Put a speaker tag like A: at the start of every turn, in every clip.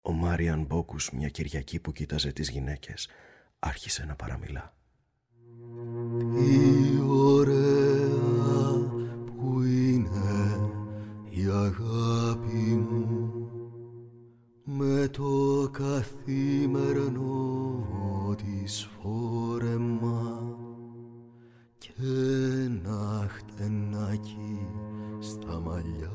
A: Ο Μάριαν Μπόκους, μια Κυριακή που κοίταζε τις γυναίκες, άρχισε να παραμιλά.
B: Τι ωραία που είναι η αγάπη μου, με το καθημερινό της φόρεμα και ένα χτενάκι στα μαλλιά.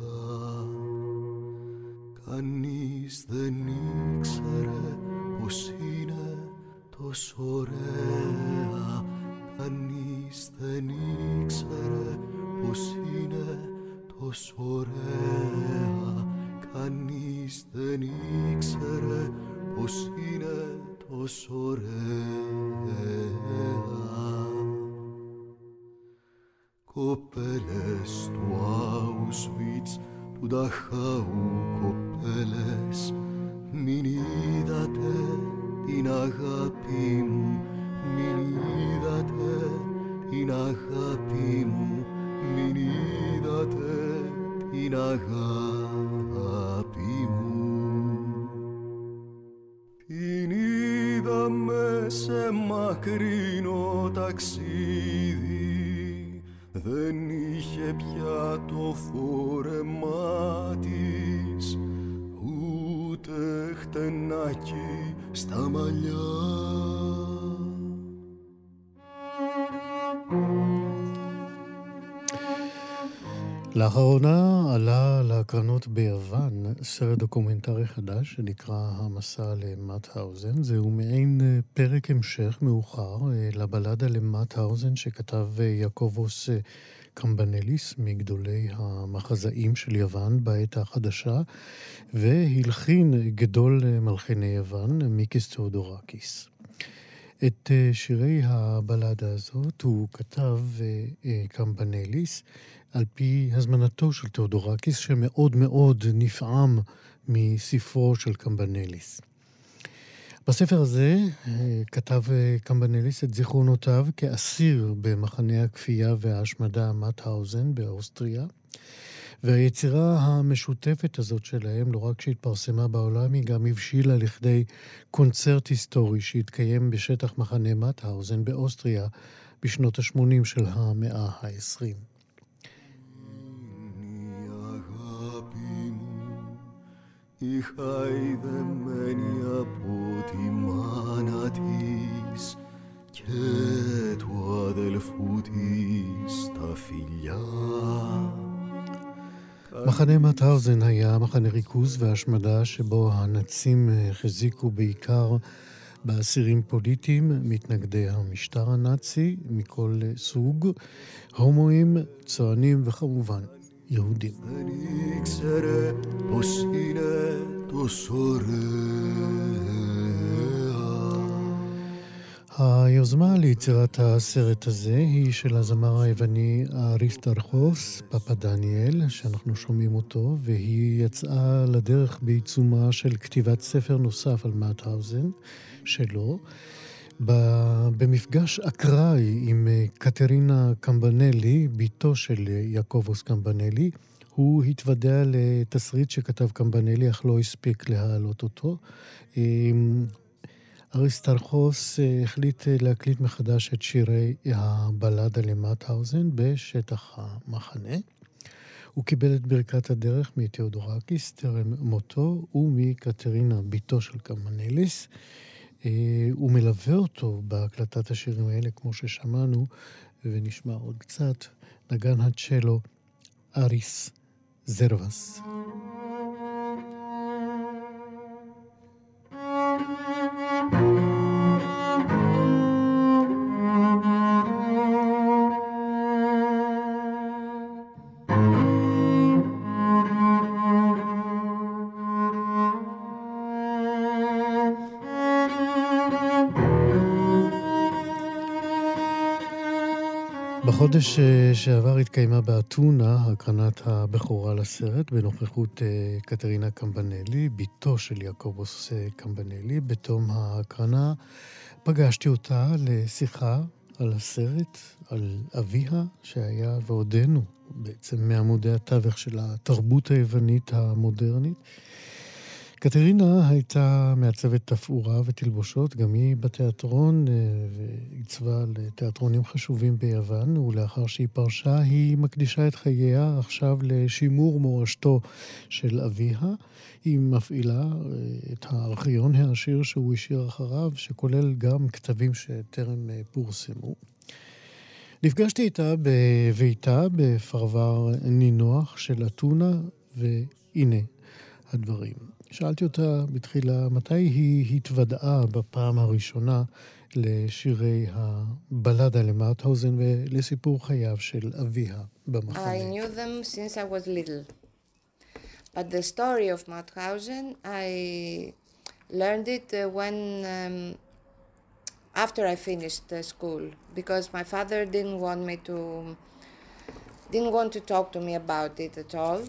B: Κανείς δεν ήξερε πως είναι τόσο ωραία. Κανείς δεν ήξερε πως είναι τόσο ωραία. Κανείς δεν ήξερε πως είναι τόσο ωραία. Κοπέλες του Auschwitz, του Νταχάου, κοπέλες, μην είδατε την αγάπη μου, μην είδατε την αγάπη μου, μην είδατε την αγάπη μου. Την είδαμε σε μακρινό ταξίδι, δεν είχε πια το φόρεμά της, ούτε χτενάκι στα μαλλιά.
C: לאחרונה עלה להקרנות ביוון סרט דוקומנטרי חדש שנקרא המסע למאוטהאוזן. זהו מעין פרק המשך מאוחר לבלדה למאוטהאוזן שכתב יעקובוס קמבנליס, מגדולי המחזאים של יוון בעת החדשה, והלחין גדול מלחיני יוון, מיקיס תאודורקיס. את שירי הבלדה הזאת הוא כתב קמבנליס על פי הזמנתו של תאודורקיס, שמאוד מאוד נפעם מספרו של קמבנליס. בספר הזה כתב קמבנליס את זיכרונותיו כאסיר במחנה הכפייה וההשמדה מאוטהאוזן באוסטריה, והיצירה המשותפת הזאת שלהם, לא רק שהתפרסמה בעולם, היא גם הבשילה לכדי קונצרט היסטורי שהתקיים בשטח מחנה מאוטהאוזן באוסטריה בשנות ה-80 של המאה ה-20.
B: Η χαϊδεμένη από τη μάνα της και του αδελφού της τα φιλιά.
C: מחנה מאוטהאוזן היה מחנה ריכוז והשמדה שבו הנאצים החזיקו בעיקר באסירים פוליטיים, מתנגדי המשטר הנאצי מכל סוג, הומואים, צוענים וכמובן יהודים.
B: Δεν ήξερε πως είναι τόσο ωραία.
C: היוזמה ליצירת הסרט הזה היא של הזמר היווני אריסטרחוס פפדניאל, שאנחנו שומעים אותו, והיא יצאה לדרך בעיצומה של כתיבת ספר נוסף על מאוטהאוזן שלו, במפגש אקראי עם קטרינה קמבנלי, ביתו של יעקובוס קמבנלי. הוא התוודע לתסריט שכתב קמבנלי, אך לא הספיק להעלות אותו. אריסטרחוס החליט להקליט מחדש את שירי הבלדה למאוטהאוזן בשטח המחנה. הוא קיבל את ברכת הדרך מתאודורקיס טרם מותו ומקטרינה, ביתו של קמבנליס. הוא מלווה אותו בהקלטת השירים האלה, כמו ששמענו, ונשמע עוד קצת, נגן הצ'לו אריס זרוס. בחודש שעבר התקיימה באתונה הקרנת הבכורה לסרט בנוכחות קטרינה קמבנלי, ביתו של יעקובוס קמבנלי. בתום ההקרנה פגשתי אותה לשיחה על הסרט, על אביה שהיה ועודנו בעצם מעמודי התווך של התרבות היוונית המודרנית. קטרינה הייתה מעצבת תפאורה ותלבושות, גם היא בתיאטרון, ועיצבה לתיאטרונים חשובים ביוון, ולאחר שהיא פרשה, היא מקדישה את חייה עכשיו לשימור מורשתו של אביה. היא מפעילה את הארכיון העשיר שהוא השאיר אחריו, שכולל גם כתבים שטרם פורסמו. נפגשתי איתה בביתה בפרבר נינוח של אתונה, והנה הדברים. שאלתי אותה בתחילה מתי היא התוודעה בפעם הראשונה לשירי הבלדה למאוטהאוזן ולסיפור חייו של אביה במחנה.
D: I knew them since I was little. But the story of Mauthausen, I learned it when after I finished school, because my father didn't want to talk to me about it at all.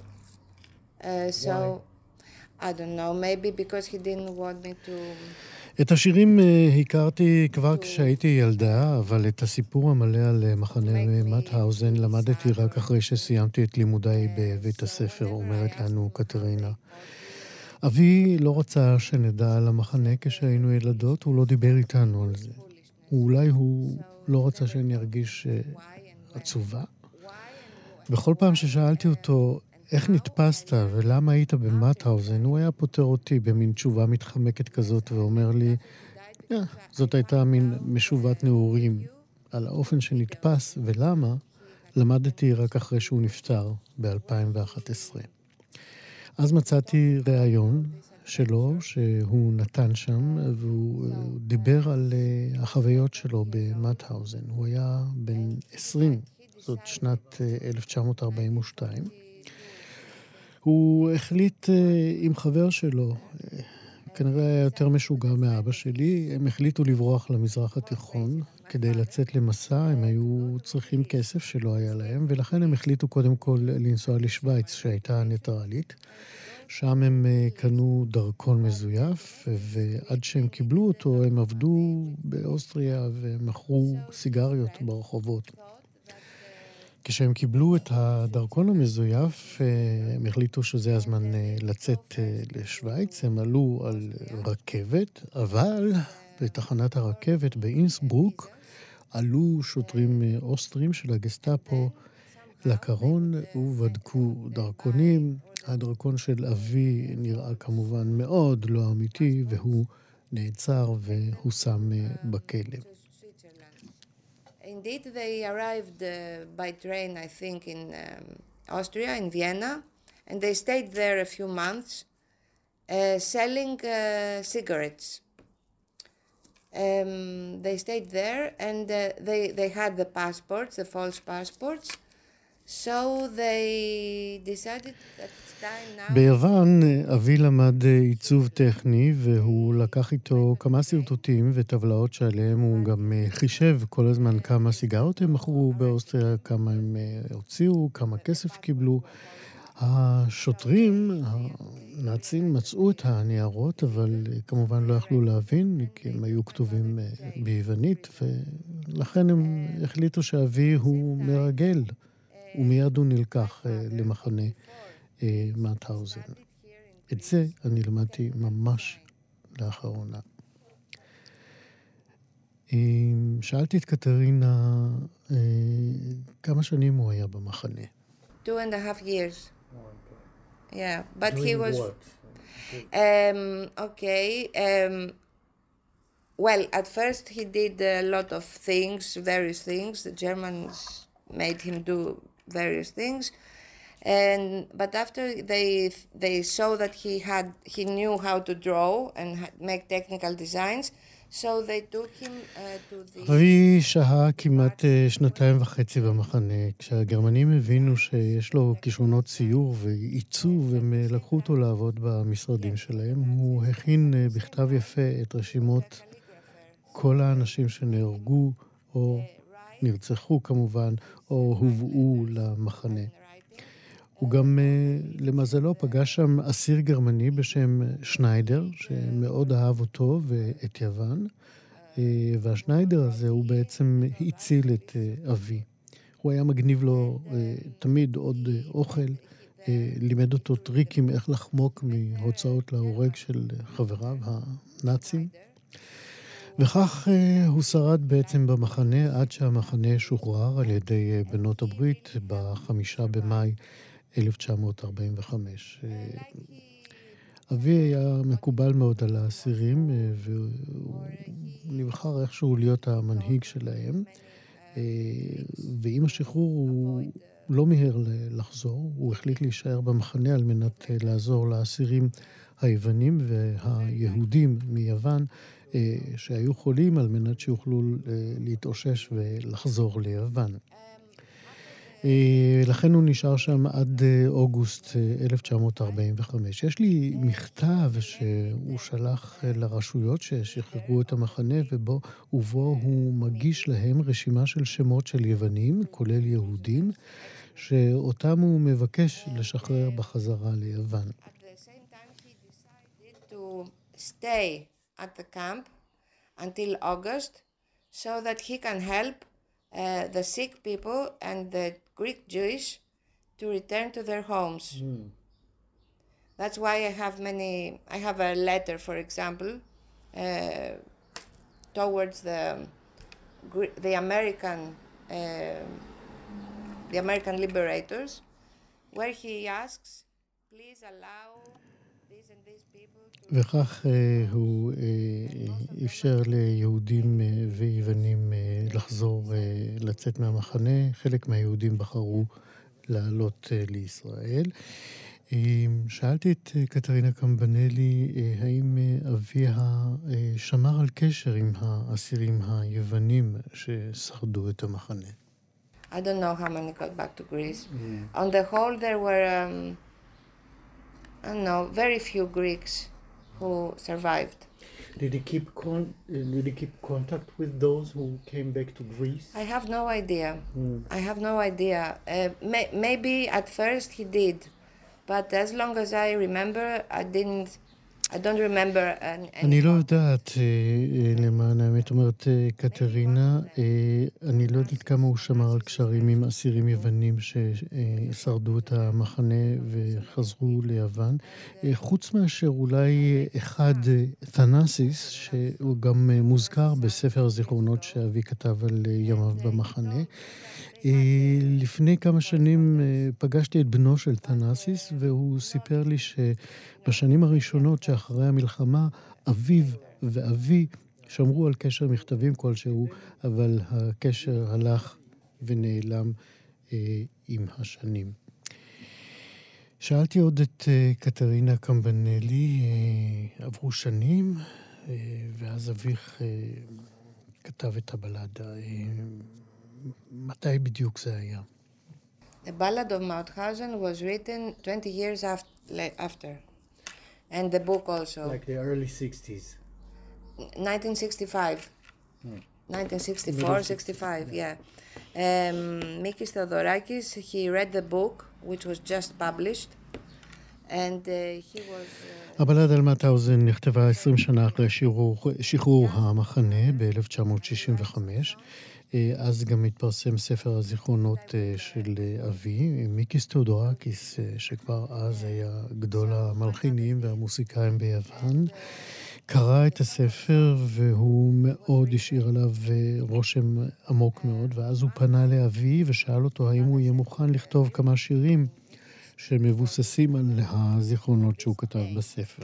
D: So I don't know, maybe because he didn't want me to...
C: את השירים הכרתי כבר כשהייתי ילדה, אבל את הסיפור המלא על מחנה מאוטהאוזן למדתי רק אחרי שסיימתי את לימודיי בבית הספר, אומרת לנו קטרינה. אבי לא רצה שנדע על המחנה כשהיינו ילדות, הוא לא דיבר איתנו על זה. אולי הוא לא רצה שאני ארגיש עצובה. בכל פעם ששאלתי אותו, איך נתפסת ולמה היית במאוטהאוזן, הוא היה פותר אותי במין תשובה מתחמקת כזאת ואומר לי, זאת הייתה מין משובת נעורים. על האופן שנתפס ולמה, למדתי רק אחרי שהוא נפטר ב-2011. אז מצאתי ראיון שלו שהוא נתן שם, והוא דיבר על החוויות שלו במאוטהאוזן. הוא היה בן 20, זאת שנת 1942. הוא החליט עם חבר שלו, כנראה היה יותר משוגע מאבא שלי, הם החליטו לברוח למזרח התיכון כדי לצאת למסע, הם היו צריכים כסף שלא היה להם, ולכן הם החליטו קודם כל לנסוע לשוויץ שהייתה ניטרלית. שם הם קנו דרכון מזויף, ועד שהם קיבלו אותו הם עבדו באוסטריה ומכרו סיגריות ברחובות. כשהם קיבלו את הדרכון המזויף, הם החליטו שזה הזמן לצאת לשוויץ, הם עלו על רכבת, אבל בתחנת הרכבת באינסברוק עלו שוטרים אוסטרים של הגסטאפו לקרון ובדקו דרכונים. הדרכון של אבי נראה כמובן מאוד לא אמיתי, והוא נעצר והושם בכלא.
D: Indeed, they arrived by train, I think, in Austria, in Vienna, and they stayed there a few months selling cigarettes. They stayed there, and they had the passports, the false passports, so they decided that it's time now...
C: ביוון אבי למד עיצוב טכני, והוא לקח איתו כמה סרטוטים וטבלאות שעליהם הוא גם חישב כל הזמן כמה סיגרות הם מכרו באוסטריה, כמה הם הוציאו, כמה כסף קיבלו. השוטרים, הנאצים, מצאו את הניירות, אבל כמובן לא יכלו להבין, כי הם היו כתובים ביוונית, ולכן הם החליטו שאבי הוא מרגל, ומיד הוא נלקח למחנה מאוטהאוזן. את זה אני למדתי ממש לאחרונה. שאלתי את קטרינה כמה שנים הוא היה במחנה.
D: 2.5 years. Yeah, but he was... Well, at first he did a lot of things, various things. The Germans made him do various things. But after they saw that he knew how to draw and make technical designs, so they took him to the...
C: אבי שהה כמעט 2.5 במחנה. כשהגרמנים הבינו שיש לו כישרונות ציור ועיצוב, הם לקחו אותו לעבוד במשרדים שלהם. הוא הכין בכתב יפה את רשימות כל האנשים שנהרגו או נרצחו כמובן, או הובאו למחנה. הוא גם, למזלו, פגש שם אסיר גרמני בשם שניידר, שמאוד אהב אותו ואת יוון, והשניידר הזה הוא בעצם הציל את אבי. הוא היה מגניב לו תמיד עוד אוכל, לימד אותו טריקים איך לחמוק מהוצאות להורג של חבריו הנאצים. וכך הוא שרד בעצם במחנה עד שהמחנה שוחרר על ידי בנות הברית ב5 במאי 1945. אבי היה מקובל מאוד על האסירים, והוא נבחר איכשהו להיות המנהיג שלהם, ועם השחרור הוא לא מהר לחזור, הוא החליט להישאר במחנה על מנת לעזור לאסירים היוונים והיהודים מיוון, שהיו חולים על מנת שיוכלו להתאושש ולחזור ליוון. לכן הוא נשאר שם עד אוגוסט 1945. יש לי מכתב שהוא שלח לרשויות ששחררו את המחנה, ובו הוא מגיש להם רשימה של שמות של יוונים, כולל יהודים, שאותם הוא מבקש לשחרר בחזרה ליוון.
D: At the same time, he decided to stay at the camp until August so that he can help the sick people and the Greek Jewish to return to their homes. That's why I have a letter, for example, towards the American liberators, where he asks, please allow these and these people to...
C: וכך הוא אפשר ליהודים ויוונים לחזור, לצאת מהמחנה. חלק מהיהודים בחרו לעלות לישראל. שאלתי את קטרינה קמבנלי, האם אביה שמר על קשר עם האסירים היוונים ששרדו את המחנה?
D: I don't know how many got back to Greece. On the whole, there were, very few Greeks who survived.
C: Did he keep contact with those who came back to Greece?
D: I have no idea. Maybe at first he did, but as long as I remember, I don't remember any.
C: אני לא יודעת, למען האמת אומרת קטרינה, אני לא יודעת כמה הוא שמר על קשרים עם אסירים יוונים ששרדו את המחנה וחזרו ליוון, חוץ מאשר אולי אחד, תנאסיס, שהוא גם מוזכר בספר הזיכרונות שאבי כתב על ימיו במחנה. לפני כמה שנים פגשתי את בנו של תנאסיס, והוא סיפר לי שבשנים הראשונות שאחרי המלחמה, אביו ואבי שמרו על קשר מכתבים כלשהו, אבל הקשר הלך ונעלם עם השנים. שאלתי עוד את קטרינה קמבנלי, עברו שנים, ואז אביך כתב את הבלדה. מתי בדיוק זה היה?
D: The Ballad of Mauthausen was written 20 years after. And the book also.
C: Like the early 60s.
D: 1965. 1964, 65, yeah. Mikis Theodorakis, he read the book, which was just published. And he was...
C: הבלד על מאוטהאוזן נכתבה 20 שנה אחרי שחרור המחנה ב-1965. אז גם התפרסם ספר הזיכרונות של אבי, מיקיס תאודורקיס, שכבר אז היה גדול המלחינים והמוסיקאים ביוון, קרא את הספר והוא מאוד השאיר עליו רושם עמוק מאוד, ואז הוא פנה לאבי ושאל אותו האם הוא יהיה מוכן לכתוב כמה שירים שמבוססים על הזיכרונות שהוא כתב בספר.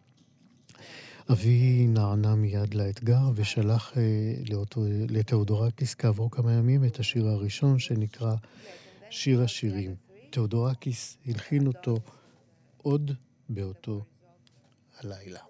C: אבי נענה מיד לאתגר ושלח לתאודורקיס כעבור כמה ימים את השיר הראשון שנקרא שיר השירים. תאודורקיס הלחין אותו עוד באותו הלילה.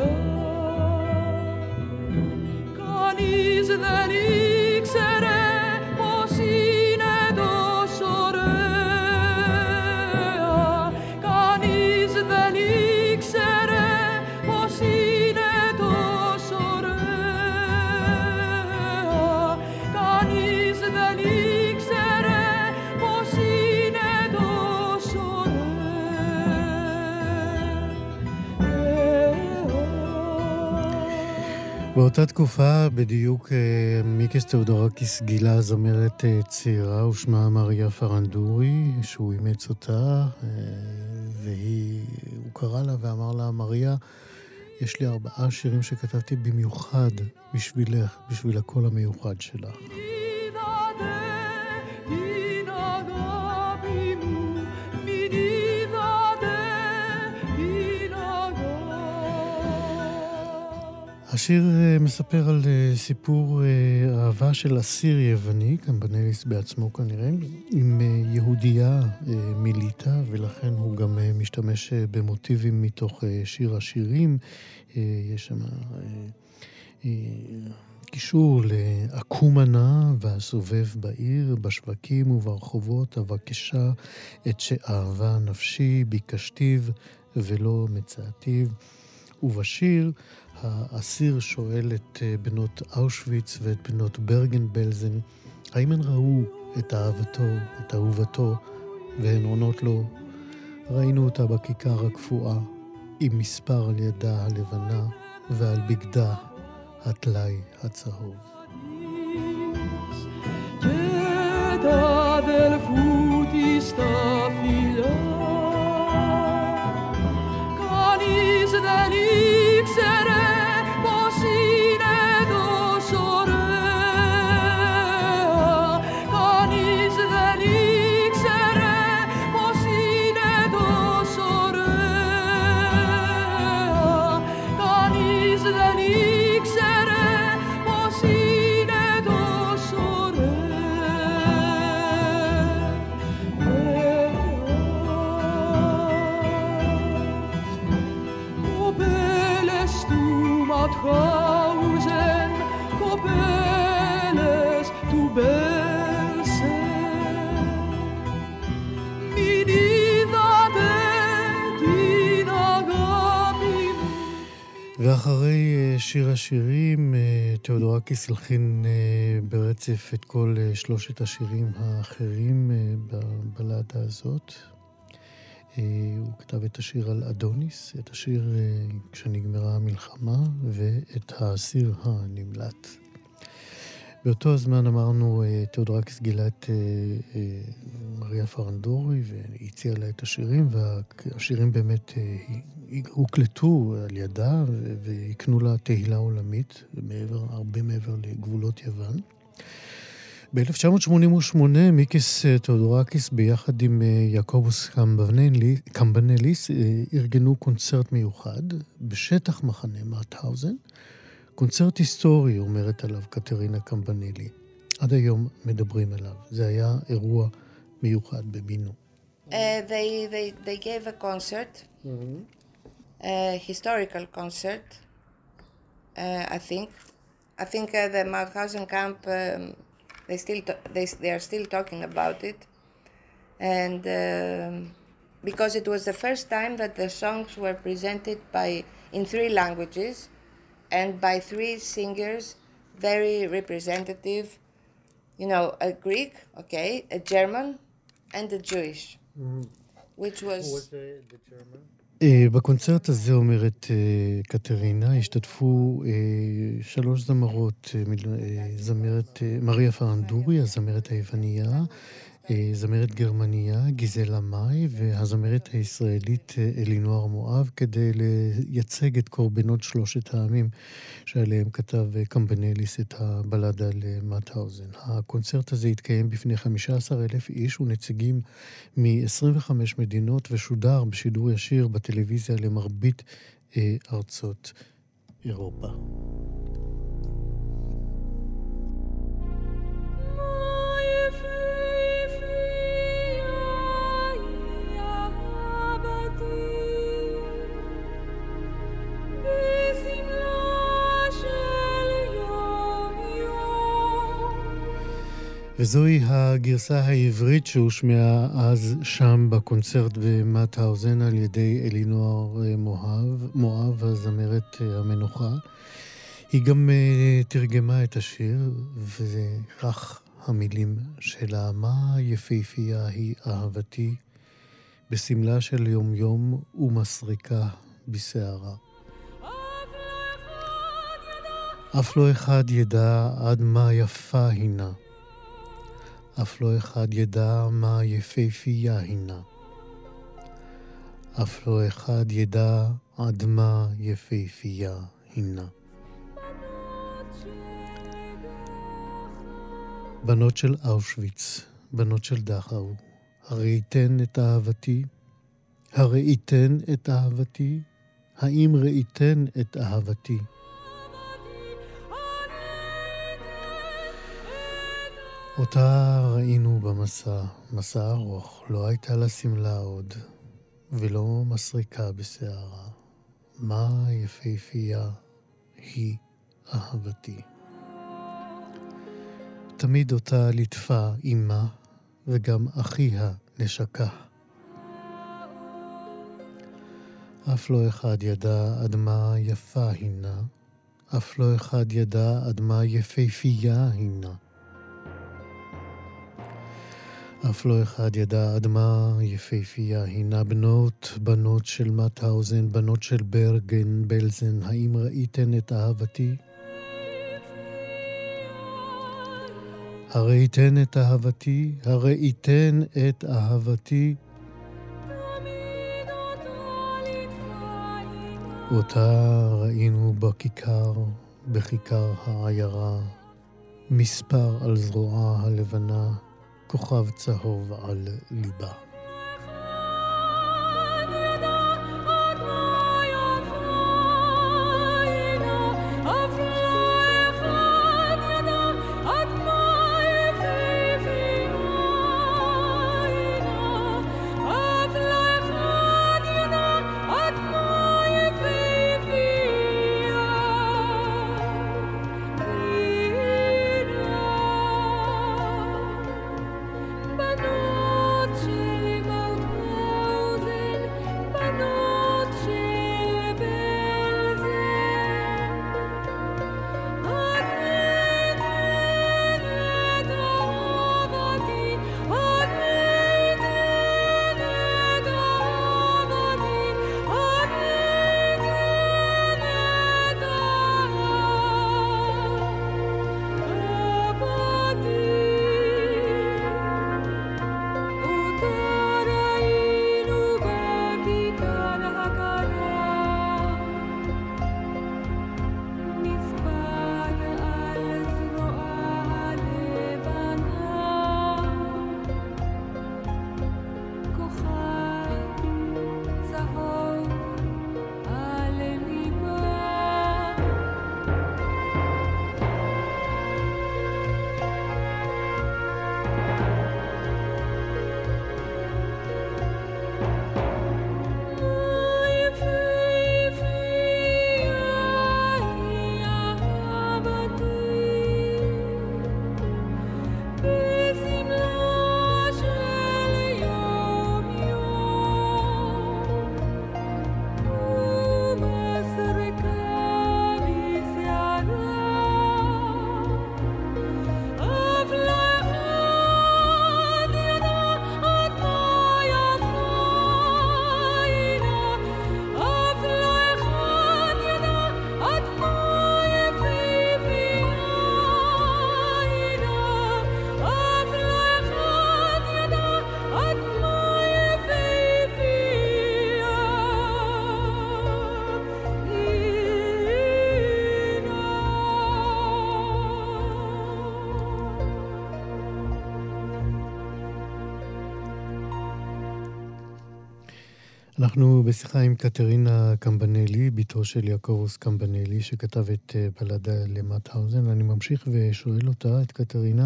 E: φιλιά. Κανείς δεν ήξερε πως είναι τόσο ωραία. Κανείς δεν ήξερε πως είναι τόσο ωραία. Κανείς δεν ήξερε πως είναι τόσο ωραία.
C: באותה תקופה בדיוק מיקס תאודורקיס גילה זמרת צעירה ושמה מריה פרנדורי, שהוא אימץ אותה, והוא קרא לה ואמר לה, מריה, יש לי 4 שירים שכתבתי במיוחד בשבילך, בשביל הקול המיוחד שלך. השיר מספר על סיפור אהבה של אסיר יווני, קמבנליס בעצמו כנראה, עם יהודייה מליטה, ולכן הוא גם משתמש במוטיבים מתוך שיר השירים. יש שם קישור לאקומנה והסובב בעיר, בשווקים וברחובות, אבקשה את שאהבה נפשי, ביקשתיו ולא מצאתיו. ובשיר האסיר שואל את בנות אושוויץ ואת בנות ברגן-בלזן, האם הן ראו את אהבתו, את אהובתו, והן עונות לו, ראינו אותה בכיכר הקפואה, עם מספר על ידה הלבנה, ועל בגדה הטלאי הצהוב.
E: Κανείς δεν ήξερε πως είναι τόσο ωραία. Κανείς δεν ήξερε πως είναι τόσο ωραία. Κανείς δεν ήξερε πως είναι τόσο Mauthausen, κοπέλες του Μπέλσεν. Μην είδατε την αγάπη μου.
C: ואחרי שיר השירים, תאודורקיס הלחין ברצף את כל 3 השירים האחרים בבלדה הזאת. הוא כתב את השיר על אדוניס, את השיר כשנגמרה המלחמה, ואת האסיר הנמלט. באותו הזמן אמרנו, תאודורקיס גילה את מריה פרנדורי, והציע לה את השירים, והשירים באמת הוקלטו על ידה, והקנו לה תהילה עולמית, הרבה מעבר לגבולות יוון. ב-1988 מיקס תאודורקיס ביחד עם יעקובוס קמבנליס ארגנו קונצרט מיוחד בשטח מחנה מאוטהאוזן. קונצרט היסטורי, אומרת עליו קטרינה קמבנלי. עד היום מדברים עליו. זה היה אירוע מיוחד במינו.
D: They gave a concert, a historical concert, I think. I think the Mauthausen camp... They are still talking about it, and because it was the first time that the songs were presented in 3 languages and by 3 singers, very representative, you know, a Greek, okay, a German, and a Jewish, which was...
C: Who was the German? בקונצרט הזה, אומרת קטרינה, השתתפו 3 זמרות, זמרת מריה פרנדורי, הזמרת היווניה, זמרת גרמניה, גיזלה מאי, והזמרת הישראלית אלינוער מואב, כדי לייצג את קורבנות 3 העמים שעליהם כתב קמבנליס את הבלדה למאוטהאוזן. הקונצרט הזה התקיים בפני 15,000 איש ונציגים מ-25 מדינות, ושודר בשידור ישיר בטלוויזיה למרבית ארצות אירופה.
E: If
C: וזוהי הגרסה העברית שהושמעה אז שם בקונצרט במאוטהאוזן על ידי אלינור מואב, הזמרת המנוחה. היא גם תרגמה את השיר, וכך המילים שלה: מה יפהפייה היא אהבתי, בסמלה של יום יום ומסריקה בשערה. אף לא אחד ידע עד מה יפה הינה, אף לא אחד ידע מה יפהפייה הינה, אף לא אחד ידע עד מה יפהפייה הינה. בנות של אושוויץ, בנות של דכאו, הראיתן את אהבתי, הראיתן את אהבתי, האם ראיתן את אהבתי? אותה ראינו במסע, מסע ארוך, לא הייתה לה סמלה עוד, ולא מסריקה בשערה. מה יפהפייה היא אהבתי. תמיד אותה ליטפה אימה, וגם אחיה נשקה. אף לא אחד ידע עד מה יפה הינה, אף לא אחד ידע עד מה יפהפייה הינה. אף לא אחד ידע עד מה יפהפייה הינה. בנות של מאוטהאוזן, בנות של ברגן בלזן, האם ראיתן את אהבתי? הראיתן את אהבתי, הראיתן את אהבתי. אותה ראינו בכיכר, בכיכר העיירה, מספר על זרועה הלבנה, כוכב צהוב על ליבה. אנחנו בשיחה עם קטרינה קמבנלי, ביתו של יעקובוס קמבנלי, שכתב את בלדה למאוטהאוזן. אני ממשיך ושואל אותה, את קטרינה,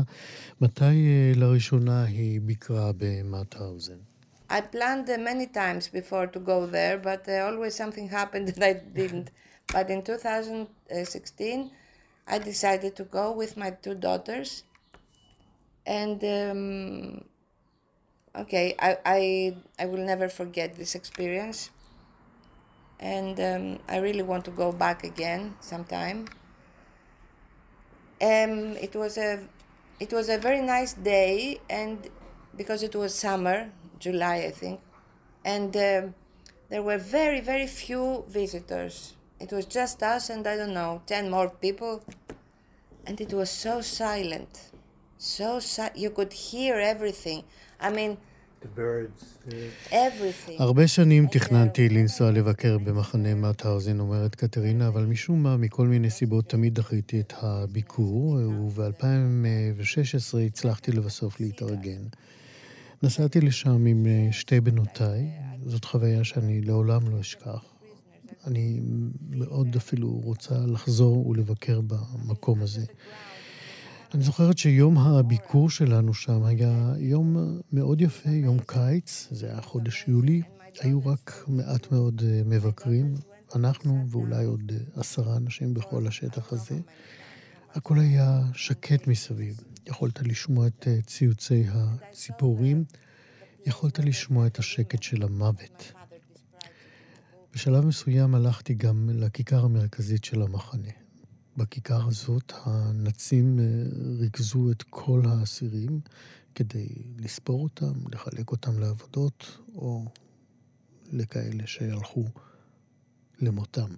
C: מתי לראשונה היא ביקרה במאוטהאוזן?
D: I planned many times before to go there, but always something happened that I didn't. But in 2016, I decided to go with my two daughters, And okay, I will never forget this experience. And I really want to go back again sometime. It was a very nice day, and because it was summer, July I think, and there were very, very few visitors. It was just us and I don't know, 10 more people, and it was so silent, you could hear everything. I mean,
C: The birds.
D: everything.
C: הרבה שנים תכננתי לנסוע לבקר במחנה מאוטהאוזן, אומרת קטרינה, אבל משום מה, מכל מיני סיבות, תמיד דחיתי את הביקור, וב-2016 הצלחתי לבסוף להתארגן. נסעתי לשם עם שתי בנותיי, זאת חוויה שאני לעולם לא אשכח. אני מאוד אפילו רוצה לחזור ולבקר במקום הזה. אני זוכרת שיום הביקור שלנו שם היה יום מאוד יפה, יום קיץ, זה היה חודש יולי, היו רק מעט מאוד מבקרים, אנחנו ואולי עוד 10 אנשים בכל השטח הזה. הכל היה שקט מסביב, יכולת לשמוע את ציוצי הציפורים, יכולת לשמוע את השקט של המוות. בשלב מסוים הלכתי גם לכיכר המרכזית של המחנה. בכיכר הזאת הנאצים ריכזו את כל האסירים כדי לספור אותם, לחלק אותם לעבודות או לכאלה שהלכו למותם.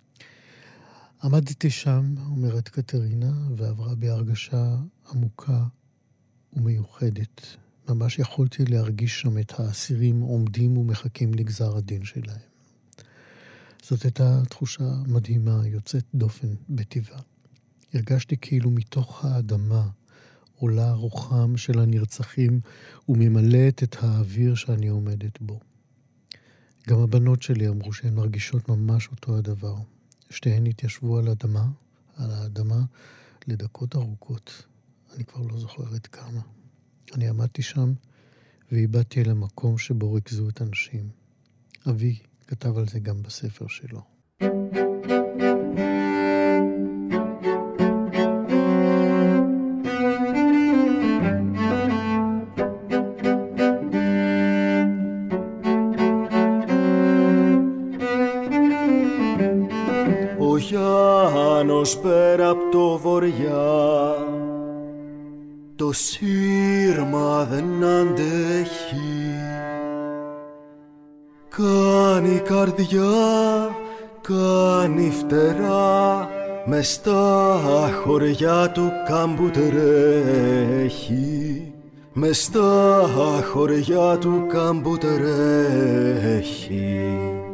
C: עמדתי שם, אומרת קטרינה, ועברה בהרגשה עמוקה ומיוחדת. ממש יכולתי להרגיש שם את האסירים עומדים ומחכים לגזר הדין שלהם. זאת הייתה תחושה מדהימה, יוצאת דופן בטבעה. הרגשתי כאילו מתוך האדמה עולה רוחם של הנרצחים וממלאת את האוויר שאני עומדת בו. גם הבנות שלי אמרו שהן מרגישות ממש אותו הדבר. שתיהן התיישבו על האדמה לדקות ארוכות. אני כבר לא זוכרת כמה. אני עמדתי שם ואיבדתי אל המקום שבו ריכזו את הנשים. אבי כתב על זה גם בספר שלו.
B: Ο Γιάννος πέρα απ' το βοριά το σύρμα δεν αντέχει. Κάνει καρδιά, κάνει φτερά, μες στα χωριά του κάμπου τρέχει. Μες στα χωριά του κάμπου τρέχει.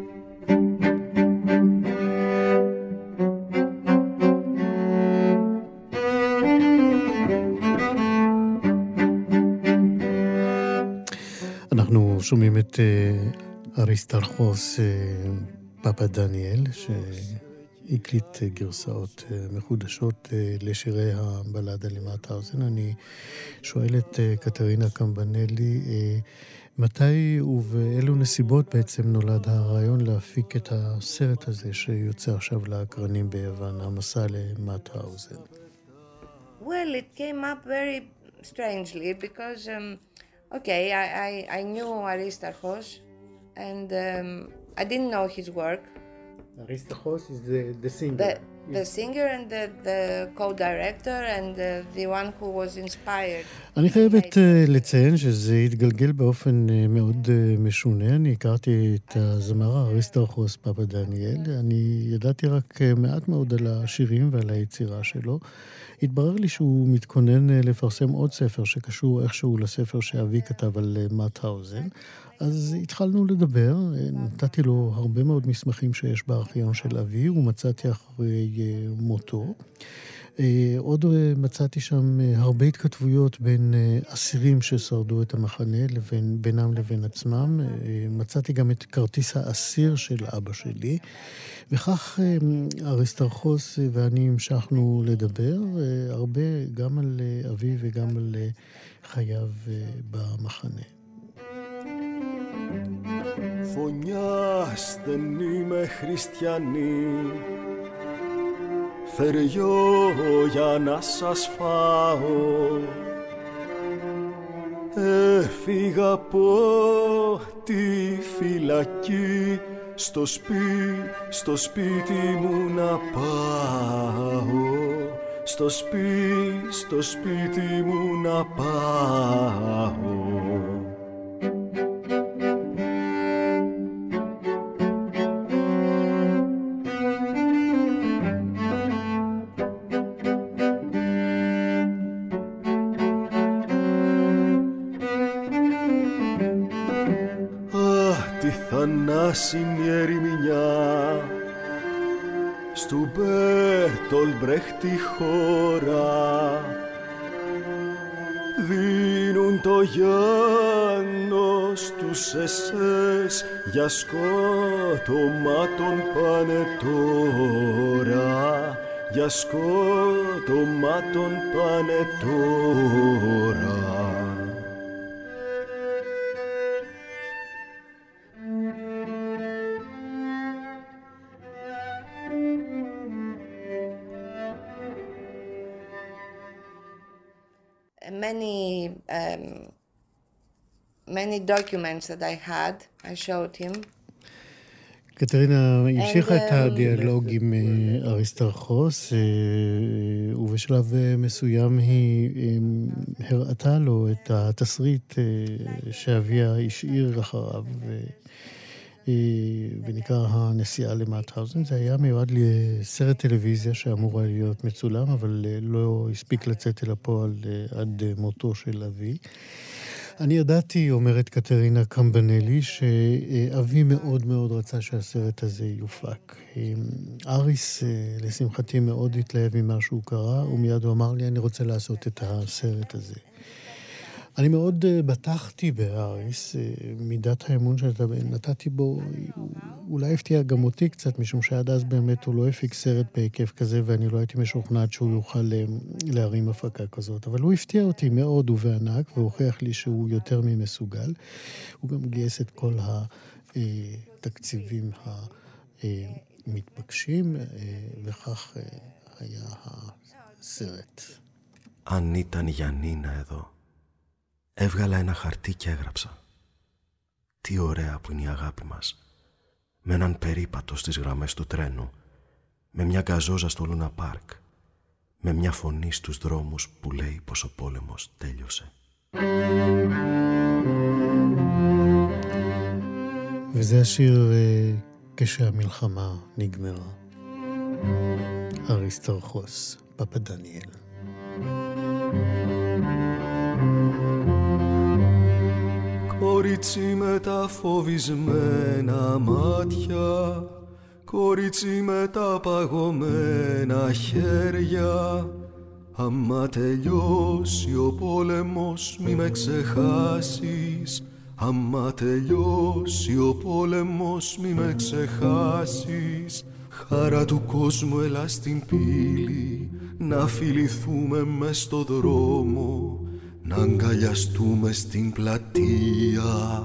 C: אנחנו שומעים את אריסטרחוס פאפה דניאל, שהקליט גרסאות מחודשות לשירי הבלדה למאוטהאוזן. אני שואל את קטרינה קמבנלי, מתי ובאילו נסיבות בעצם נולד הרעיון להפיק את הסרט הזה שיוצא עכשיו לאקרנים ביוון, המסע למאוטהאוזן?
D: Well, it came up very strangely because, okay, I knew Aristarchos and I didn't know his work.
C: Aristarchos is the singer.
D: The singer and the co-director and the one who was inspired.
C: אני חייבת לציין שזה התגלגל באופן מאוד משונה. אני הכרתי את הזמר אריסטרחוס פאפה דניאל. אני ידעתי רק מעט מאוד על השירים ועל היצירה שלו. התברר לי שהוא מתכונן לפרסם עוד ספר שקשור איכשהו לספר שאבי כתב על מאוטהאוזן. אז התחלנו לדבר, נתתי לו הרבה מאוד מסמכים שיש בארכיון של אבי, ומצאתי אחרי מותו. עוד מצאתי שם הרבה התכתבויות בין אסירים ששרדו את המחנה, בינם לבין עצמם. מצאתי גם את כרטיס האסיר של אבא שלי, וכך אריסטרחוס ואני המשכנו לדבר הרבה גם על אבי וגם על חייו במחנה.
B: Φωνιάς δεν είμαι χριστιανή, θεριό για να σας φάω. Έφυγα από τη φυλακή, στο σπίτι μου να πάω, στο σπίτι μου να πάω. Θανάσιμη ερημινιά στου Μπέρτολτ Μπρέχτ τη χώρα, δίνουν το Γιάννο στους SS, για σκότωμα τον πάνε τώρα, για σκότωμα τον πάνε τώρα.
D: Many documents that I had, I showed him.
C: קטרינה המשיכה את הדיאלוג עם אריסטרחוס, ובשלב מסוים היא הראתה לו את התסריט שאביה השאיר אחריו, ונקרא הנסיעה למאוטהאוזן. זה היה מיועד לסרט טלוויזיה שאמור להיות מצולם, אבל לא הספיק לצאת אל הפועל עד מותו של אבי. אני ידעתי, אומרת קטרינה קמבנלי, שאבי מאוד מאוד רצה שהסרט הזה יופק. אריס, לשמחתי, מאוד התלהב ממה שהוא קרא, ומיד הוא אמר לי, אני רוצה לעשות את הסרט הזה. אני מאוד בטחתי באריס, מידת האמון שנתתי בו, אולי הפתיע גם אותי קצת, משום שעד אז באמת הוא לא הפיק סרט בהיקף כזה, ואני לא הייתי משוכנעת שהוא יוכל להרים הפקה כזאת. אבל הוא הפתיע אותי מאוד ובענק, והוכיח לי שהוא יותר ממסוגל. הוא גם גייס את כל התקציבים המתבקשים, וכך היה הסרט.
A: Αν ήταν η Γιαννίνα εδώ, έβγαλα ένα χαρτί και έγραψα. Τι ωραία που είναι η αγάπη μας. Με έναν περίπατο στις γραμμές του τρένου, με μια γκαζόζα στο Λούνα Πάρκ, με μια φωνή στους δρόμους που λέει πως ο πόλεμος τέλειωσε.
C: וזה השיר כשהמלחמה נגמרה. אריסטרחוס, פאפה דניאל.
B: Κορίτσι με τα φοβισμένα μάτια, κορίτσι με τα παγωμένα χέρια, άμα τελειώσει ο πόλεμος μη με ξεχάσεις, άμα τελειώσει ο πόλεμος μη με ξεχάσεις. Χαρά του κόσμου έλα στην πύλη, να φιληθούμε μες στο δρόμο, να αγκαλιαστούμε στην πλατεία.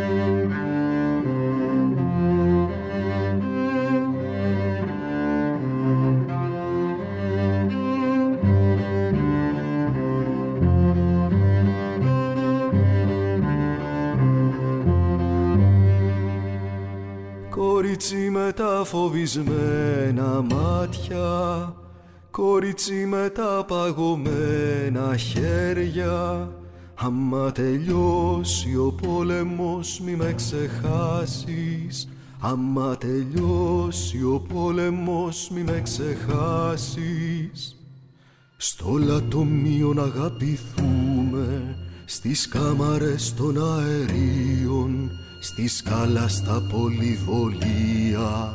B: Κορίτσι με τα φοβισμένα μάτια, κορίτσι με τα παγωμένα χέρια, άμα τελειώσει ο πόλεμος μη με ξεχάσεις, άμα τελειώσει ο πόλεμος μη με ξεχάσεις. Στο λατομείο να αγαπηθούμε, στις κάμαρες των αερίων, στη σκάλα στα πολυβολία.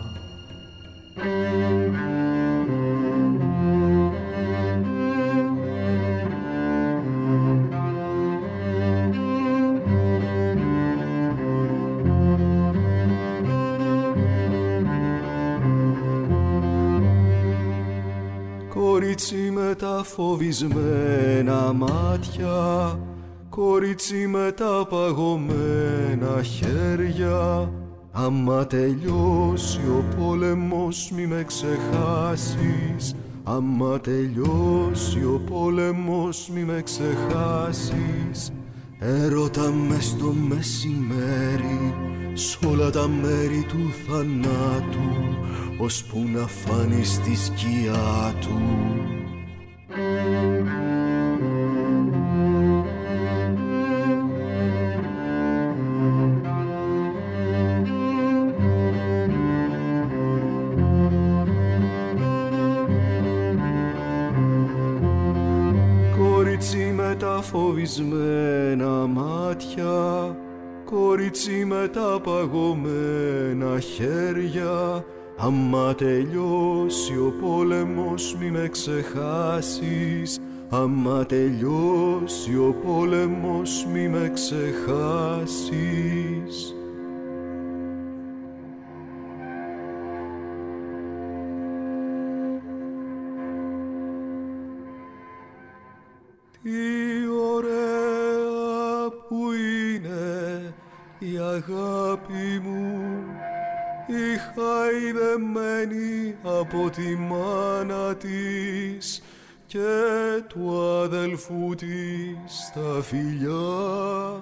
B: Κορίτσι με τα φοβισμένα μάτια, κορίτσι με τα παγωμένα χέρια, άμα τελειώσει ο πόλεμος μη με ξεχάσεις, άμα τελειώσει ο πόλεμος μη με ξεχάσεις. Έρωτα μες στο μεσημέρι, σ' όλα τα μέρη του θανάτου, ώσπου να φάνει στη σκιά του. Κορίτσι με τα φοβισμένα μάτια, κορίτσι με τα παγωμένα χέρια, άμα τελειώσει ο πόλεμος μη με ξεχάσεις, άμα τελειώσει ο πόλεμος μη με ξεχάσεις. Τι ωραία που είναι η αγάπη μου, η χαϊδεμένη από τη μάνα της και του αδελφού της τα φιλιά.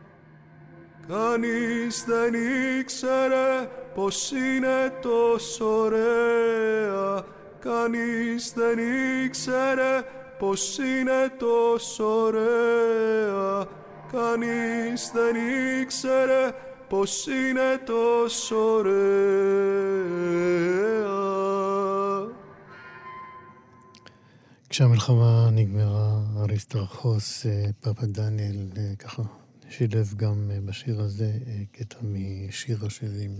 B: Κανείς δεν ήξερε πως είναι τόσο ωραία, κανείς δεν ήξερε πως είναι τόσο ωραία, κανείς δεν ήξερε πως είναι τόσο ωραία.
C: כשהמלחמה נגמרה, אריסטרחוס, פאפה דניאל, ככה שילב גם בשיר הזה קטע משיר השירים,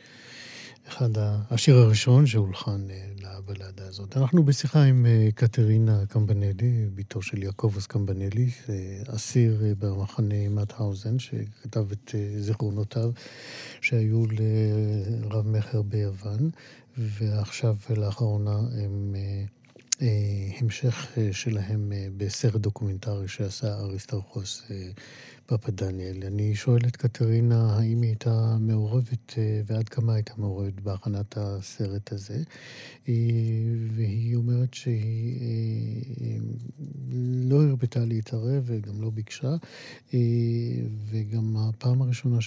C: השיר הראשון שהולחן לבלדה הזאת. אנחנו בשיחה עם קטרינה קמבנלי, ביתו של יעקובוס קמבנלי, אסיר במחנה מאוטהאוזן, שכתב את זיכרונותיו שהיו לרב מחר ביוון, ועכשיו לאחרונה הם המשך שלהם בסרט דוקומנטרי שעשה אריסטרחוס פאפה דניאל. אני שואל את קטרינה האם היא הייתה מעורבת ועד כמה הייתה מעורבת בהכנת הסרט הזה, והיא אומרת שהיא לא הרבתה להתערב וגם לא ביקשה, וגם הפעם הראשונה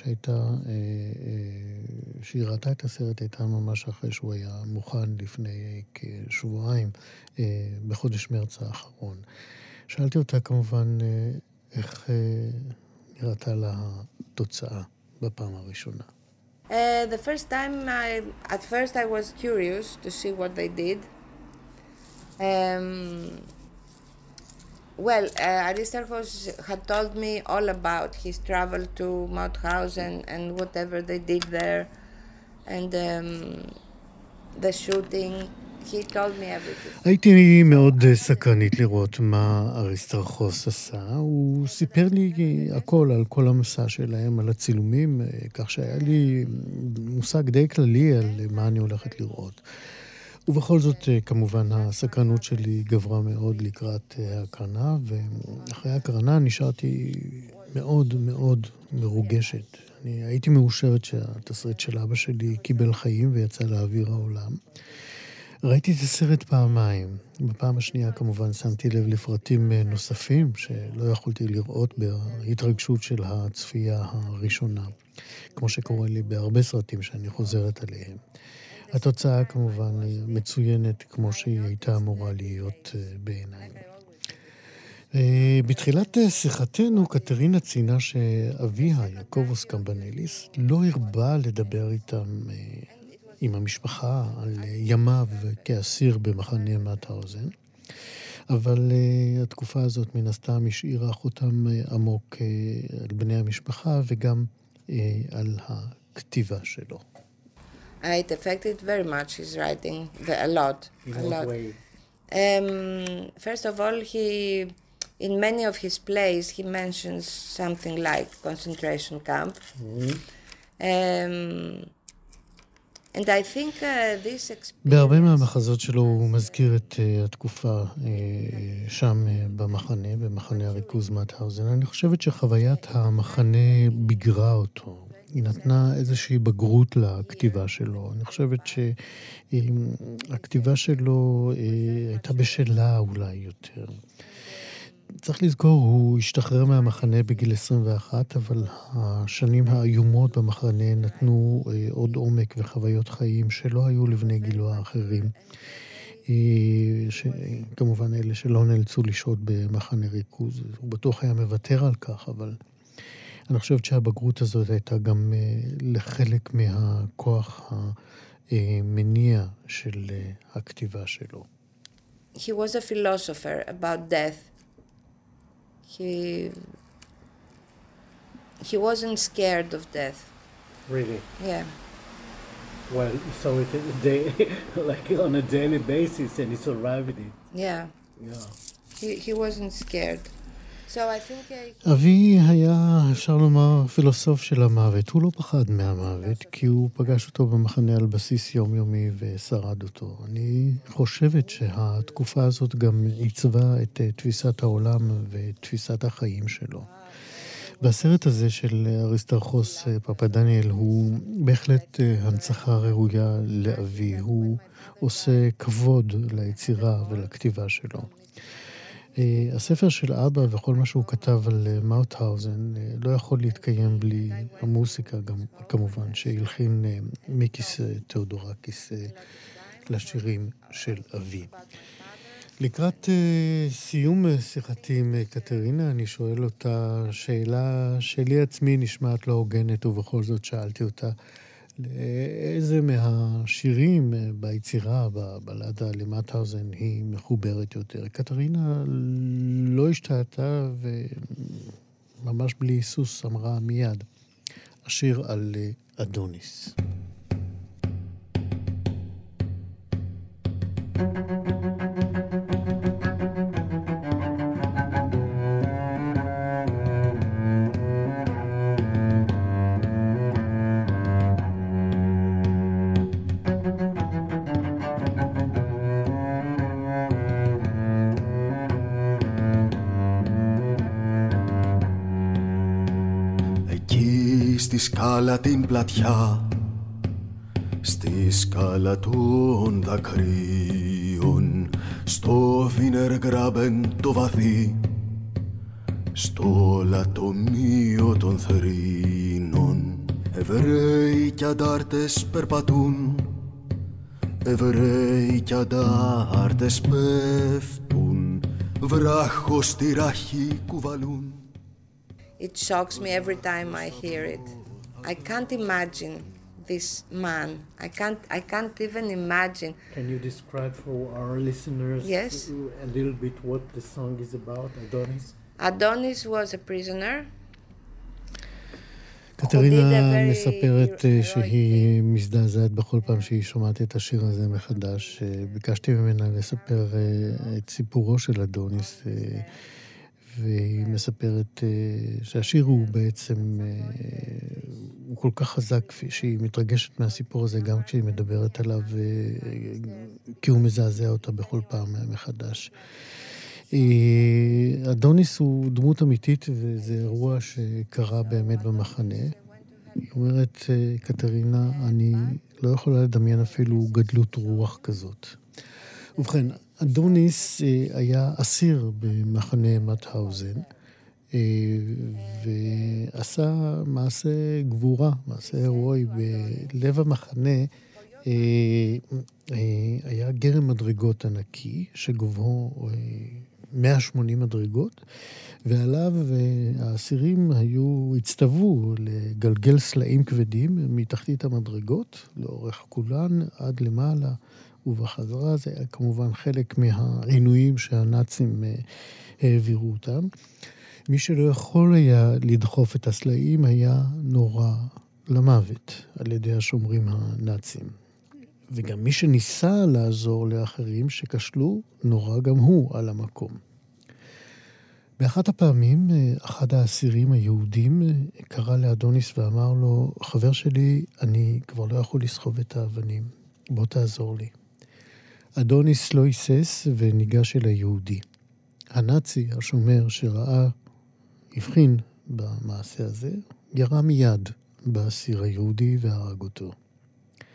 C: שהיא ראתה את הסרט הייתה ממש אחרי שהוא היה מוכן לפני כשבועיים, בחודש מרץ האחרון. שאלתי אותה כמובן איך נראתה לה התוצאה בפעם הראשונה.
D: The first time, at first I was curious to see what they did. Well, Aristarchos had told me all about his travel to Mauthausen and whatever they did there, and the shooting. He told me everything.
C: הייתי מאוד סקרנית לראות מה אריסטרחוס עשה. הוא סיפר לי הכל על כל המסע שלהם, על הצילומים, כך שהיה לי מושג די כללי על מה אני הולכת לראות. ובכל זאת, כמובן, הסקרנות שלי גברה מאוד לקראת ההקרנה, ואחרי ההקרנה נשארתי מאוד מאוד מרוגשת. אני הייתי מאושרת שהתסריט של אבא שלי קיבל חיים ויצא לאוויר העולם. ראיתי את הסרט פעמיים. בפעם השנייה כמובן שמתי לב לפרטים נוספים שלא יכולתי לראות בהתרגשות של הצפייה הראשונה, כמו שקורה לי בהרבה סרטים שאני חוזרת עליהם. התוצאה כמובן היא מצוינת כמו שהיא הייתה אמורה להיות בעיניי. בתחילת שיחתנו קטרינה ציינה שאביה, יעקובוס קמבנליס, לא הרבה לדבר איתם עם המשפחה על ימיו כאסיר במחנה מאוטהאוזן, אבל התקופה הזאת מן הסתם השאירה חותם עמוק על בני המשפחה וגם על הכתיבה שלו.
D: It affected very much his writing, a lot.
C: In what way?
D: First of all, in many of his plays, he mentions something like concentration camp. And I think this experience...
C: בהרבה מהמחזות שלו הוא מזכיר את התקופה שם במחנה הריכוז מאוטהאוזן. אני חושבת שחוויית המחנה ביגרה אותו. היא נתנה איזושהי בגרות לכתיבה שלו. אני חושבת שהכתיבה שלו הייתה בשלה אולי יותר. צריך לזכור, הוא השתחרר מהמחנה בגיל 21, אבל השנים האיומות במחנה נתנו עוד עומק וחוויות חיים שלא היו לבני גילו האחרים. כמובן אלה שלא נאלצו לשהות במחנה ריכוז. הוא בטוח היה מוותר על כך, אבל אני חושבת שהבגרות הזאת הייתה גם לחלק מהכוח המניע של הכתיבה שלו.
D: He was a philosopher about death. He wasn't scared of death.
F: Really?
D: Yeah.
F: Well, he saw it like on a daily basis, and he survived it.
D: Yeah.
F: Yeah.
D: He wasn't scared. So I think
C: אבי היה, אפשר לומר, פילוסוף של המוות. הוא לא פחד מהמוות, כי הוא פגש אותו במחנה על בסיס יומיומי ושרד אותו. אני חושבת שהתקופה הזאת גם עיצבה את תפיסת העולם ותפיסת החיים שלו. והסרט הזה של אריסטרחוס פפדניאל הוא בהחלט הנצחה ראויה לאבי. הוא עושה כבוד ליצירה ולכתיבה שלו. הספר של אבא וכל מה שהוא כתב על מאוטהאוזן לא יכול להתקיים בלי המוסיקה גם, כמובן, שהלחין מיקיס תיאודורקיס לשירים של אבי. לקראת סיום שיחתי עם קטרינה, אני שואל אותה שאלה שלי עצמי נשמעת לא הוגנת, ובכל זאת שאלתי אותה, לאיזה מהשירים ביצירה, בבלדה למאוטהאוזן, היא מחוברת יותר? קטרינה לא השתעתה וממש בלי היסוס אמרה מיד, השיר על אדוניס.
B: Στη σκάλα την πλατιά, στη σκάλα των δακρύων, στο Βίνεργράβεν το βαθύ, στο λατομείο των θρήνων, Εβραίοι κι αντάρτες περπατούν, Εβραίοι κι αντάρτες πέφτουν, βράχος στη ράχη κουβαλούν.
D: it shocks me every time I hear it. I can't imagine this man. I can't even imagine.
F: Can you describe for our listeners a little bit what the song is about, Adonis?
D: Adonis was a prisoner.
C: קטרינה מספרת שהיא מזדעזעת בכל פעם שהיא שומעת את השיר הזה מחדש. ביקשתי ממנה לספר את סיפורו של אדוניס, והיא מספרת שהשיר הוא בעצם, הוא כל כך חזק שהיא מתרגשת מהסיפור הזה גם כשהיא מדברת עליו, כי הוא מזעזע אותה בכל פעם מחדש. אדוניס הוא דמות אמיתית, וזה אירוע שקרה באמת במחנה. היא אומרת, קטרינה, אני לא יכולה לדמיין אפילו גדלות רוח כזאת. ובכן, אדוניס היה אסיר במחנה מאוטהאוזן, ועשה מעשה גבורה, מעשה הירואי. בלב המחנה היה גרם מדרגות ענקי, שגובהו 180 מדרגות, ועליו האסירים הצטוו לגלגל סלעים כבדים מתחתית המדרגות, לאורך כולן עד למעלה ובחזרה. זה היה כמובן חלק מהעינויים שהנאצים העבירו אותם. מי שלא יכול היה לדחוף את הסלעים היה נורא למוות על ידי השומרים הנאצים. וגם מי שניסה לעזור לאחרים שכשלו, נורא גם הוא על המקום. באחת הפעמים, אחד האסירים היהודים קרא לאדוניס ואמר לו, חבר שלי, אני כבר לא יכול לסחוב את האבנים, בוא תעזור לי. אדוניס לא היסס וניגש אל היהודי. הנאצי, השומר שראה, הבחין במעשה הזה, ירה מיד באסיר היהודי והרג אותו.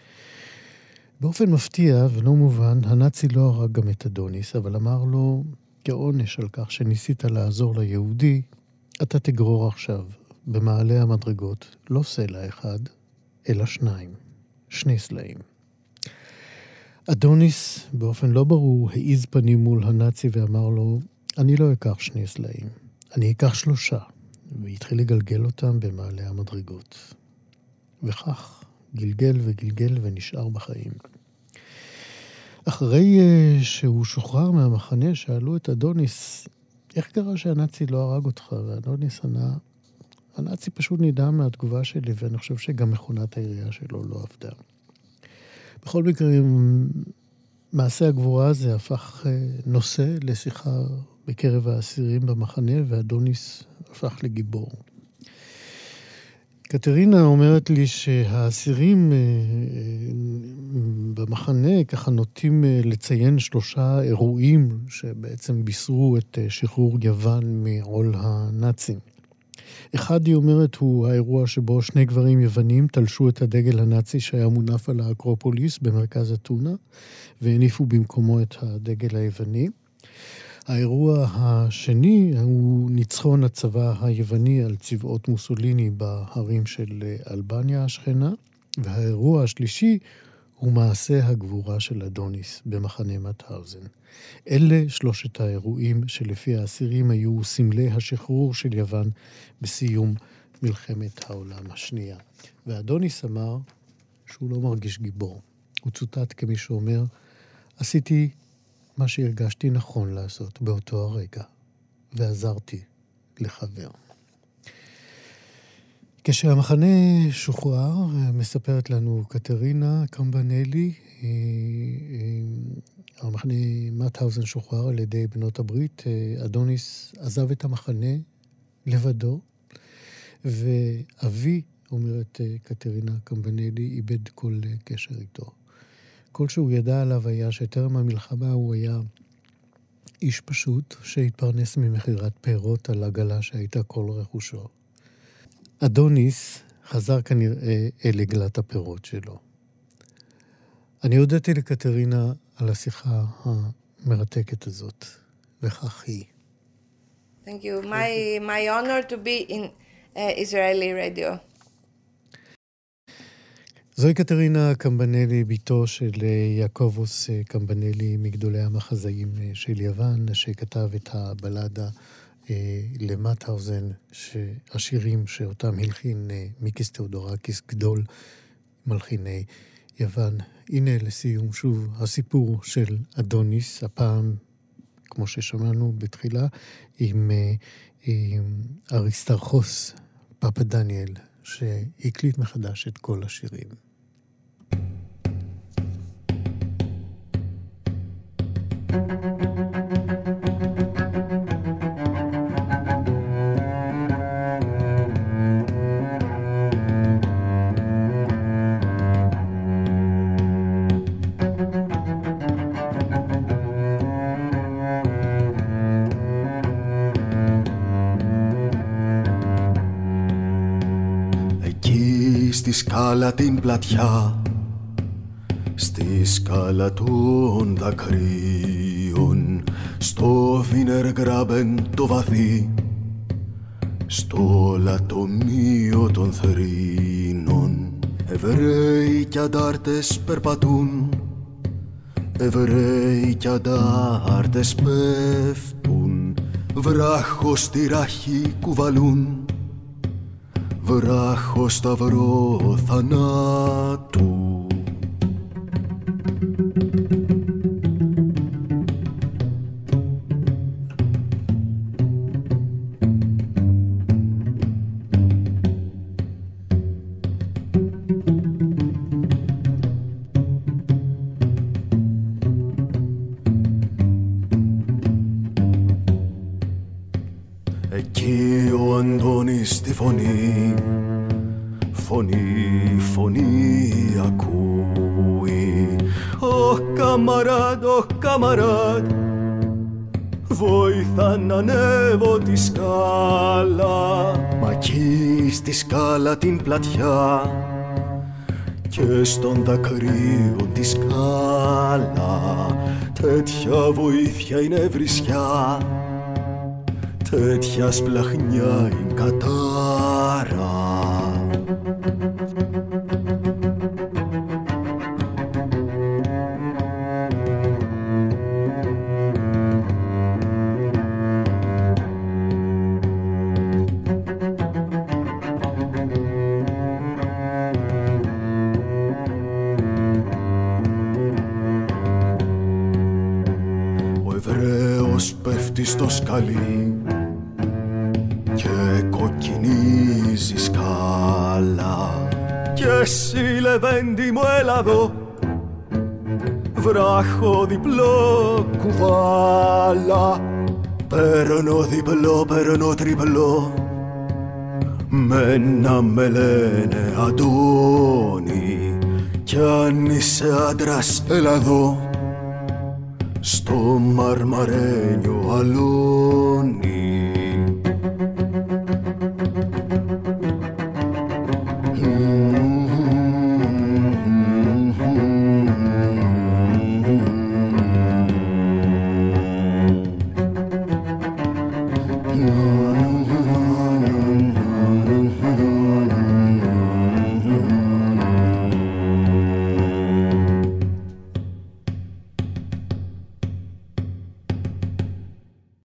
C: באופן מפתיע ולא מובן, הנאצי לא הרג גם את אדוניס, אבל אמר לו, כעונש על כך שניסית לעזור ליהודי, אתה תגרור עכשיו במעלה המדרגות לא סלע אחד, אלא שני סלעים. אדוניס באופן לא ברור העיז פנים מול הנאצי ואמר לו, אני לא אקח 2 סלעים, אני אקח 3, והתחיל לגלגל אותם במעלה המדרגות. וכך גלגל וגלגל ונשאר בחיים. אחרי שהוא שוחרר מהמחנה, שאלו את אדוניס, איך קרה שהנאצי לא הרג אותך? ואדוניס ענה, הנאצי פשוט נדהם מהתגובה שלי, ואני חושב שגם מכונת העירייה שלו לא עבדה. בכל מקרה, מעשה הגבורה הזה הפך נושא לשיחה בקרב האסירים במחנה, ואדוניס הפך לגיבור. קטרינה אומרת לי שהאסירים במחנה ככה נוטים לציין 3 אירועים שבעצם בישרו את שחרור יוון מעול הנאצים. אחד, היא אומרת, הוא האירוע שבו 2 גברים יוונים תלשו את הדגל הנאצי שהיה מונף על האקרופוליס במרכז אתונה, והניפו במקומו את הדגל היווני. האירוע השני הוא ניצחון הצבא היווני על צבאות מוסוליני בהרים של אלבניה השכנה, והאירוע השלישי הוא מעשה הגבורה של אדוניס במחנה מאוטהאוזן. אלה 3 האירועים שלפי האסירים היו סמלי השחרור של יוון בסיום מלחמת העולם השנייה. ואדוניס אמר שהוא לא מרגיש גיבור. הוא צוטט כמי שאומר, עשיתי מה שהרגשתי נכון לעשות באותו הרגע, ועזרתי לחבר. כשהמחנה שוחרר, מספרת לנו קטרינה קמבנלי, המחנה מאוטהאוזן שוחרר על ידי בנות הברית, אדוניס עזב את המחנה לבדו, ואבי, אומרת קטרינה קמבנלי, איבד כל קשר איתו. כל שהוא ידע עליו היה שטרם המלחמה הוא היה איש פשוט שהתפרנס ממחירת פירות על עגלה שהייתה כל רכושו. אדוניס חזר כנראה אל עגלת הפירות שלו. אני הודיתי לקטרינה על השיחה המרתקת הזאת, וכך היא.
D: Thank you. My honor to be in Israeli radio.
C: זוהי קטרינה קמבנלי, ביתו של יעקובוס קמבנלי, מגדולי המחזאים של יוון, שכתב את הבלדה למאוטהאוזן, השירים שאותם הלחין מיקיס תאודורקיס, גדול מלחיני יוון. הנה לסיום שוב הסיפור של אדוניס, הפעם, כמו ששמענו בתחילה, עם אריסטרחוס פפדניאל, שהקליט מחדש את כל השירים.
B: Στη σκάλα την πλατιά, στη σκάλα των δακρύων, στο Βίνεργράβεν το βαθύ, στο λατομείο των θρήνων. Εβραίοι κι αντάρτες περπατούν, Εβραίοι κι αντάρτες πέφτουν, βράχο στη ράχη κουβαλούν, βράχο σταυρό θανάτου. Εκεί ο Αντώνης στη φωνή, φωνή ακούει. Ω καμαράντ, βοήθα να ανέβω τη σκάλα. Μα εκεί στη σκάλα την πλατιά και στον δακρύο τη σκάλα τέτοια βοήθεια είναι βρισιά, τέτοια σπλαχνιά είναι κατάρα. Στο σκαλί και κοκκινίζει σκάλα. Κι εσύ λεβέντη μου έλα εδώ, βράχο διπλό κουβάλα. Παίρνω διπλό, παίρνω τριπλό, μένα με λένε Αντώνη. Κι αν είσαι άντρας έλα εδώ, στο μαρμαρένιο αλόνι.